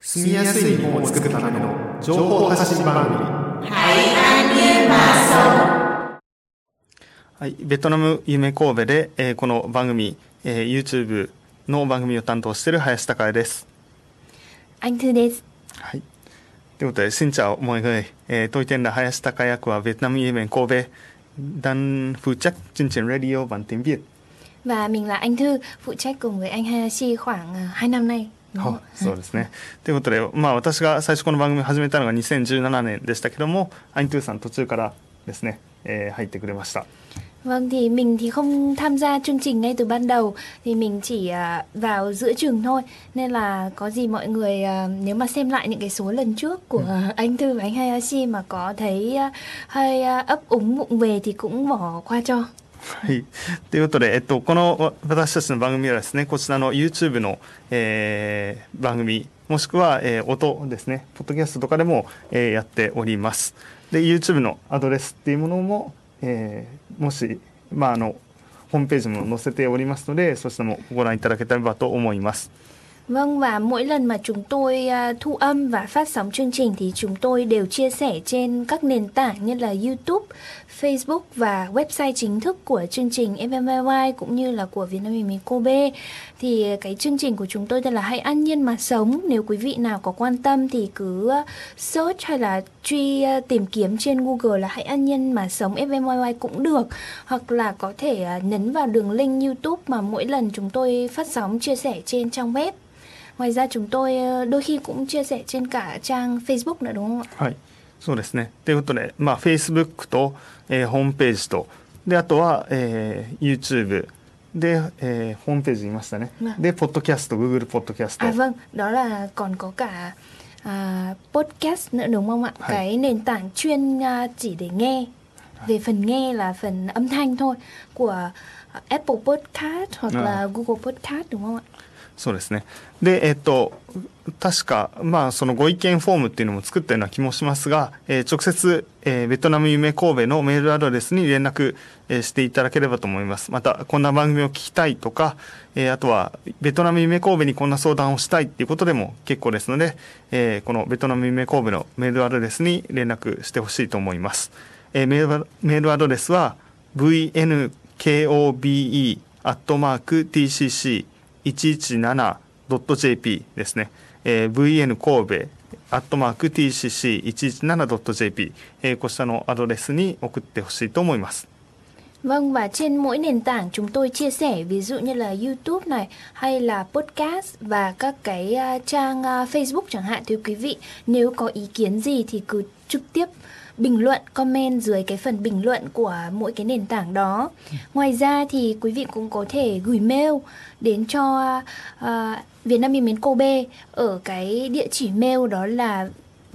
住みやすい日本を作るための情報発信番組。 はい、ベトナム夢神戸で、この番組、YouTube の番組を担当している林孝也です。 Anh Thưです。 はい。ということで、xin chào mọi người. Tôi tên là Hayas Takaya của Vietnam Event Kobe, đang phụ trách chương trình radio bản tiếng Việt. Và mình là Anh Thư, phụ trách cùng với anh Hayashi khoảng 2 năm nay。 そうですね。ということで、私が最初この番組を始めたのが2017年でしたけども、アイントゥーさん途中からですね、入ってくれました。 Vâng, thì mình thì không tham gia chương trình ngay từ ban đầu, thì mình chỉ vào giữa chừng thôi. Nên là có gì mọi người nếu mà xem lại những cái số lần trước của anh Thư và anh Hayashi mà có thấy hơi ấp úng vụng về thì cũng bỏ qua cho。 はい、ということで、この私たちの番組はですね、こちらの YouTube の、番組もしくは、音ですね、ポッドキャストとかでも、やっております。で YouTube のアドレスっていうものも、もし、ホームページも載せておりますので、そちらもご覧いただければと思います。 Vâng, và mỗi lần mà chúng tôi thu âm và phát sóng chương trình thì chúng tôi đều chia sẻ trên các nền tảng như là YouTube, Facebook và website chính thức của chương trình FMYY cũng như là của Vietnam Event Kobe. Thì cái chương trình của chúng tôi tên là Hãy An Nhiên Mà Sống. Nếu quý vị nào có quan tâm thì cứ search hay là tìm kiếm trên Google là Hãy An Nhiên Mà Sống FMYY cũng được. Hoặc là có thể nhấn vào đường link YouTube mà mỗi lần chúng tôi phát sóng chia sẻ trên trang web. Ngoài ra chúng tôi đôi khi cũng chia sẻ trên cả trang Facebook nữa đúng không ạ? はい、そうですね。ということで、Facebook と、ホームページと、であとは、YouTube で、ホームページ言いましたね。で、ポッドキャスト、Google ポッドキャスト。 Vâng, đó là còn có cả podcast nữa đúng không ạ? Cái nền tảng chuyên chỉ để nghe. Về phần nghe là phần âm thanh thôi của Apple Podcast hoặc là Google Podcast đúng không ạ? そうですね。で、確か、そのご意見フォームっていうのも作ったような気もしますが、直接、ベトナム夢神戸のメールアドレスに連絡、していただければと思います。また、こんな番組を聞きたいとか、あとは、ベトナム夢神戸にこんな相談をしたいっていうことでも結構ですので、このベトナム夢神戸のメールアドレスに連絡してほしいと思います。メールアドレスは、vnkobe@tcc117.jp ですね。vn 神戸@tcc117.jp こちらのアドレスに送ってほしいと思います。 Vâng, và trên mỗi nền tảng chúng tôi chia sẻ, ví dụ như là YouTube này hay là podcast và các cái trang Facebook chẳng hạn, thì quý vị nếu có ý kiến gì thì cứ trực tiếp bình luận, comment dưới cái phần bình luận của mỗi cái nền tảng đó. Ngoài ra thì quý vị cũng có thể gửi mail đến cho Vietnam Event Kobe ở cái địa chỉ mail đó là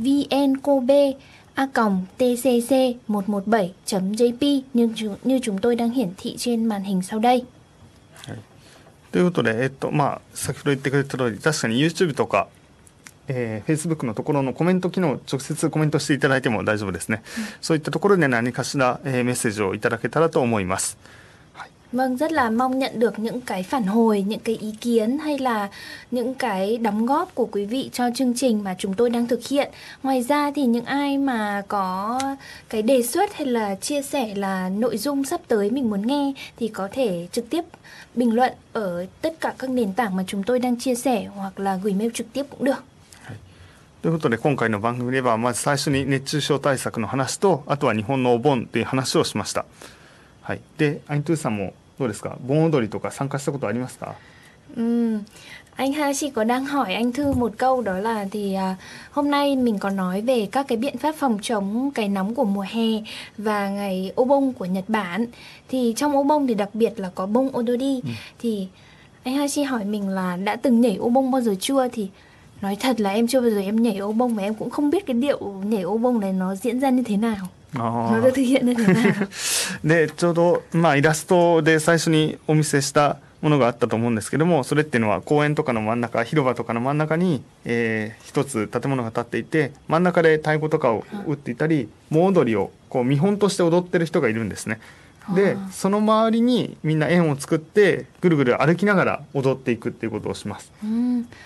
vnkobe@tcc117.jp như chúng tôi đang hiển thị trên màn hình sau đây. ということで、先ほど言ってくれた通り、確かに YouTube とかFacebook のところのコメント機能、直接コメントしていただいても大丈夫ですね。そういったところで何かしら、メッセージをいただけたらと思います。 Vâng, rất là mong nhận được những cái phản hồi, những cái ý kiến hay là những cái đóng góp của quý vị cho chương trình mà chúng tôi đang thực hiện. Ngoài ra thì những ai mà có cái đề xuất hay là chia sẻ là nội dung sắp tới mình muốn nghe thì có thể trực tiếp bình luận ở tất cả các nền tảng mà chúng tôi đang chia sẻ hoặc là gửi mail trực tiếp cũng được. ということで、今回の番組ではまず最初に熱中症対策の話と、あとは日本のお盆という話をしました。はい。で、アイントゥーさんもどうですか？盆踊りとか参加したことありますか？ Anh Hayashi có đang hỏi anh Thư một câu, đó là thì hôm nay mình có nói về các cái biện pháp phòng chống cái nóng của mùa hè và ngày Obon của Nhật Bản. Thì trong Obon thì đặc biệt là có bông Odori. Thì anh Hayashi hỏi mình là đã từng nhảy Obon bao giờ chưa? Thì nói thật là em chưa bao giờ em nhảy ô bông và em cũng không biết cái điệu nhảy ô bông này nó diễn ra như thế nào. Nó được thực hiện như thế nào. で、ちょうど、イラストで最初にお見せしたものがあったと思うんですけども、それっていうのは公園とかの真ん中、広場とかの真ん中に、一つ建物が建っていて、真ん中で太鼓とかを打っていたり、盆踊りをこう見本として踊ってる人がいるんですね。で、その周りにみんな円を作ってぐるぐる歩きながら踊っていくっていうことをします。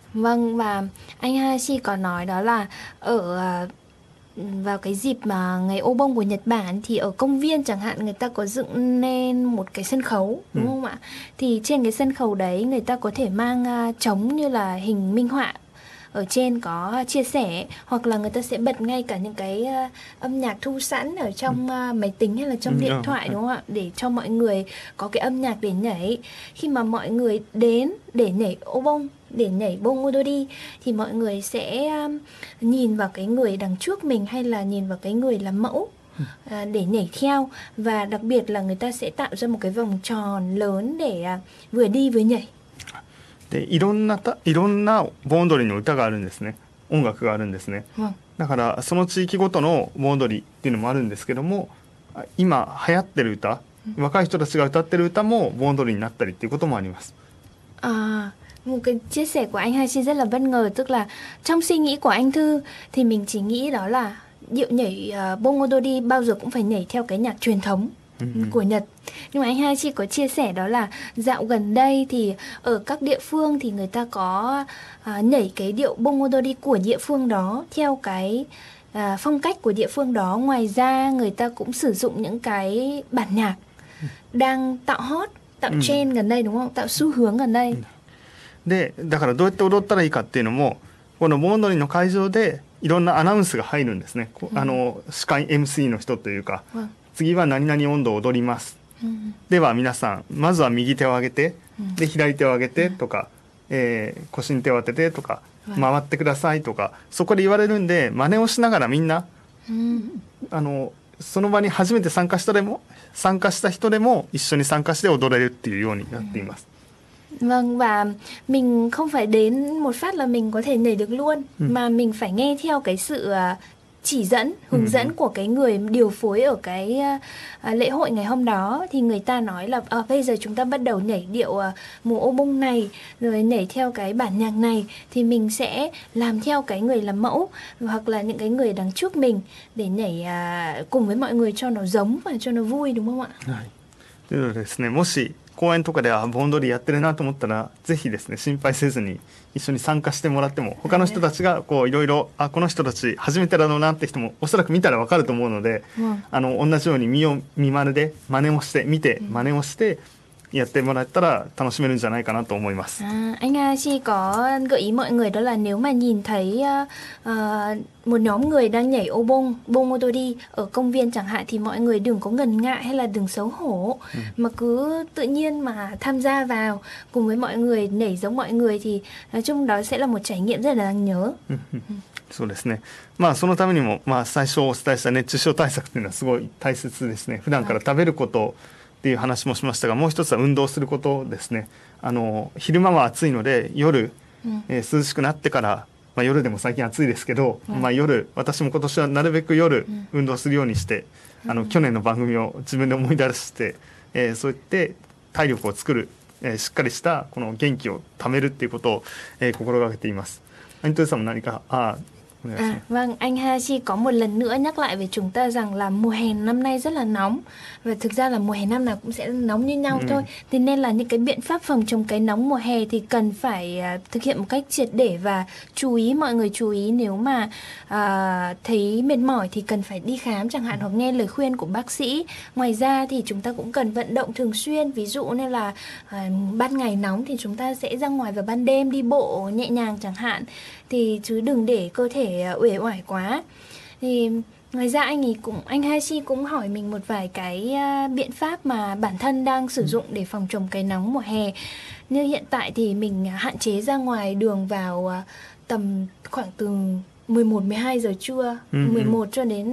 Vâng, và anh Hashi có nói đó là ở vào cái dịp mà ngày ô bông của Nhật Bản thì ở công viên chẳng hạn người ta có dựng nên một cái sân khấu, đúng không ạ? Thì trên cái sân khấu đấy người ta có thể mang trống như là hình minh họa, ở trên có chia sẻ, hoặc là người ta sẽ bật ngay cả những cái âm nhạc thu sẵn ở trong máy tính hay là trong điện thoại, đúng không ạ? Để cho mọi người có cái âm nhạc để nhảy. Khi mà mọi người đến để nhảy ô bông, để nhảy bông odori thì mọi người sẽ nhìn vào cái người đằng trước mình hay là nhìn vào cái người làm mẫu để nhảy theo, và đặc biệt là người ta sẽ tạo ra một cái vòng tròn lớn để vừa đi vừa nhảy. でいろんな盆踊りの歌があるんですね。音楽があるんですね。だからその地域ごとの盆踊りっていうのもあるんですけども、今流行ってる歌、若い人たちが歌ってる歌も盆踊りになったりっていうこともあります。 Một cái chia sẻ của anh Hashi rất là bất ngờ, tức là trong suy nghĩ của anh Thư thì mình chỉ nghĩ đó là điệu nhảy bông odori bao giờ cũng phải nhảy theo cái nhạc truyền thống của Nhật. Nhưng mà anh Hashi có chia sẻ đó là dạo gần đây thì ở các địa phương thì người ta có nhảy cái điệu bông odori của địa phương đó theo cái phong cách của địa phương đó. Ngoài ra người ta cũng sử dụng những cái bản nhạc đang tạo hot, tạo trend gần đây, đúng không? Tạo xu hướng gần đây. でだからどうやって踊ったらいいかっていうのも、この盆踊りの会場でいろんなアナウンスが入るんですね。司会 MC の人というか、次は何々音頭を踊ります、では皆さんまずは右手を上げて、で左手を上げてとか、腰に手を当ててとか、回ってくださいとか、そこで言われるんで真似をしながらみんな、その場に初めて参加した人でも一緒に参加して踊れるっていうようになっています。 Vâng, và mình không phải đến một phát là mình có thể nhảy được luôn, mà mình phải nghe theo cái sự chỉ dẫn, hướng dẫn của cái người điều phối ở cái lễ hội ngày hôm đó. Thì người ta nói là bây giờ chúng ta bắt đầu nhảy điệu mùa ô bông này, rồi nhảy theo cái bản nhạc này, thì mình sẽ làm theo cái người làm mẫu hoặc là những cái người đằng trước mình để nhảy cùng với mọi người cho nó giống và cho nó vui, đúng không ạ? ということでですね、もし公園とかでは盆踊りやってるなと思ったら、ぜひですね心配せずに一緒に参加してもらっても、他の人たちがこういろいろこの人たち初めてだろうなって人もおそらく見たらわかると思うので、同じように見まねで真似をして見て真似をしてやってもらったら楽しめるんじゃないかなと思います。 Anh Hashi có gợi ý mọi người đó là nếu mà nhìn thấy một nhóm người đang nhảy ô bông odori ở công viên chẳng hạn thì mọi người đừng có ngần ngại hay là đừng xấu hổ, mà cứ tự nhiên mà tham gia vào cùng với mọi người, nhảy giống mọi người, thì nói chung đó sẽ là một trải nghiệm rất là đáng nhớ. そうですね。そのためにも、最初お伝えした熱中症対策っていうのはすごい大切ですね。普段から食べることっていう話もしましたが、もう一つは運動することですね。昼間は暑いので夜、涼しくなってから、夜でも最近暑いですけど、夜、私も今年はなるべく夜運動するようにして、去年の番組を自分で思い出して、そうやって体力を作る、しっかりしたこの元気を貯めるっていうことを、心がけています。anh Tưさんも何か Vâng, anh Hashi có một lần nữa nhắc lại với chúng ta rằng là mùa hè năm nay rất là nóng, và thực ra là mùa hè năm nào cũng sẽ nóng như nhau thôi. Thế nên là những cái biện pháp phòng chống cái nóng mùa hè thì cần phải thực hiện một cách triệt để, và mọi người chú ý nếu mà thấy mệt mỏi thì cần phải đi khám chẳng hạn, hoặc nghe lời khuyên của bác sĩ. Ngoài ra thì chúng ta cũng cần vận động thường xuyên, ví dụ như là ban ngày nóng thì chúng ta sẽ ra ngoài vào ban đêm đi bộ nhẹ nhàng chẳng hạn, thì chứ đừng để cơ thể uể oải quá. Thì ngoài ra anh Hashi cũng hỏi mình một vài cái biện pháp mà bản thân đang sử dụng để phòng chống cái nóng mùa hè. Như hiện tại thì mình hạn chế ra ngoài đường vào tầm khoảng từ 11-12 giờ trưa, 11 cho đến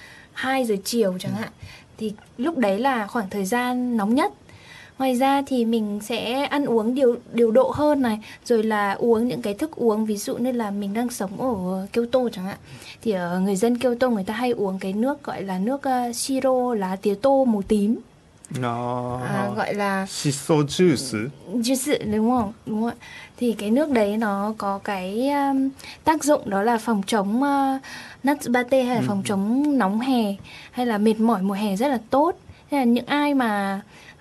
2 giờ chiều chẳng hạn. Thì lúc đấy là khoảng thời gian nóng nhất. Ngoài ra thì mình sẽ ăn uống điều độ hơn này, rồi là uống những cái thức uống, ví dụ như là mình đang sống ở Kyoto chẳng hạn, thì ở người dân Kyoto người ta hay uống cái nước gọi là nước siro, lá tía tô màu tím, gọi là shiso juice, đúng không? Đúng không? Thì cái nước đấy nó có cái tác dụng đó là phòng chống natsubate, hay là phòng chống nóng hè hay là mệt mỏi mùa hè rất là tốt. Thế là những ai mà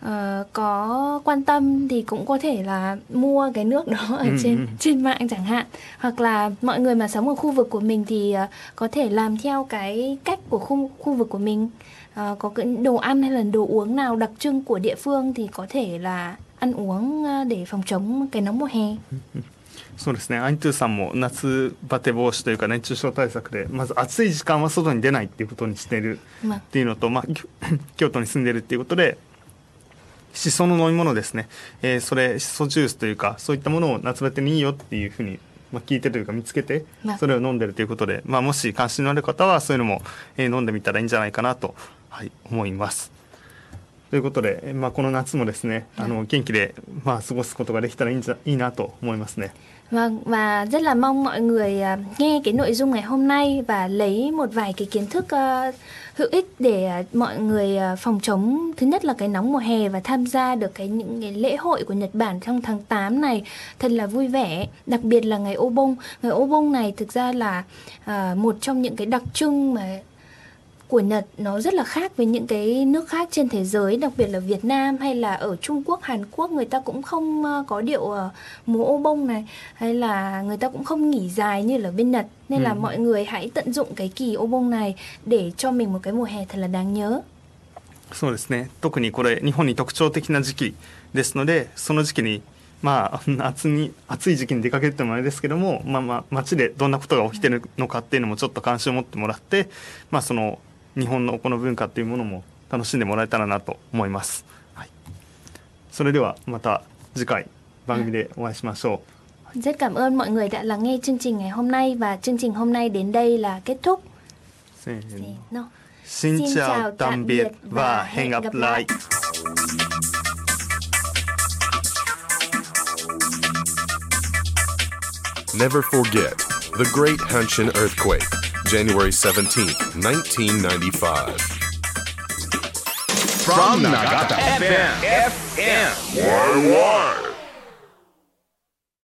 có quan tâm thì cũng có thể là mua cái nước đó ở trên mạng chẳng hạn. Hoặc là mọi người mà sống ở khu vực của mình thì có thể làm theo cái cách của khu vực của mình. Có cái đồ ăn hay là đồ uống nào đặc trưng của địa phương thì có thể là ăn uống để phòng chống cái nóng mùa hè. そうですね、アニトゥさんも夏バテ防止というか熱中症対策でまず暑い時間は外に出ないっていうことにしているっていうのと、京都に住んでいるっていうことでシソの飲み物ですね、それシソジュースというかそういったものを夏バテにいいよっていうふうに、聞いてというか見つけてそれを飲んでるということで、もし関心のある方はそういうのも、飲んでみたらいいんじゃないかなと、思います。ということで、この夏もですね元気で、過ごすことができたらいいなと思いますね。 Vâng, và rất là mong mọi người nghe cái nội dung ngày hôm nay và lấy một vài cái kiến thức hữu ích để mọi người phòng chống thứ nhất là cái nóng mùa hè và tham gia được những cái lễ hội của Nhật Bản trong tháng 8 này thật là vui vẻ, đặc biệt là ngày Obon. Ngày Obon này thực ra là một trong những cái đặc trưng mà của Nhật, nó rất là khác với những cái nước khác trên thế giới, đặc biệt là Việt Nam hay là ở Trung Quốc, Hàn Quốc người ta cũng không có điệu múa ô bông này, hay là người ta cũng không nghỉ dài như là bên Nhật, nên là mọi người hãy tận dụng cái kỳ ô bông này để cho mình một cái mùa hè thật là đáng nhớ. そうですね、特にこれ日本に特徴的な時期ですので、その時期に暑い時期に出かけるってもあれですけども、街でどんなことが起きてるのかっていうのもちょっと関心を持ってもらって、その日本のこの文化っていうものも楽しんでもらえたらなと思います。それではまた次回番組でお会いしましょう。 Rất cảm ơn mọi người đã lắng nghe chương trình ngày hôm nay và chương trình hôm nay đến đây là kết thúc. Xin chào tạm biệt và hẹn gặp lại. Never forget the Great Hanshin Earthquake, January 17th, 1995. From Nagata FM. Why?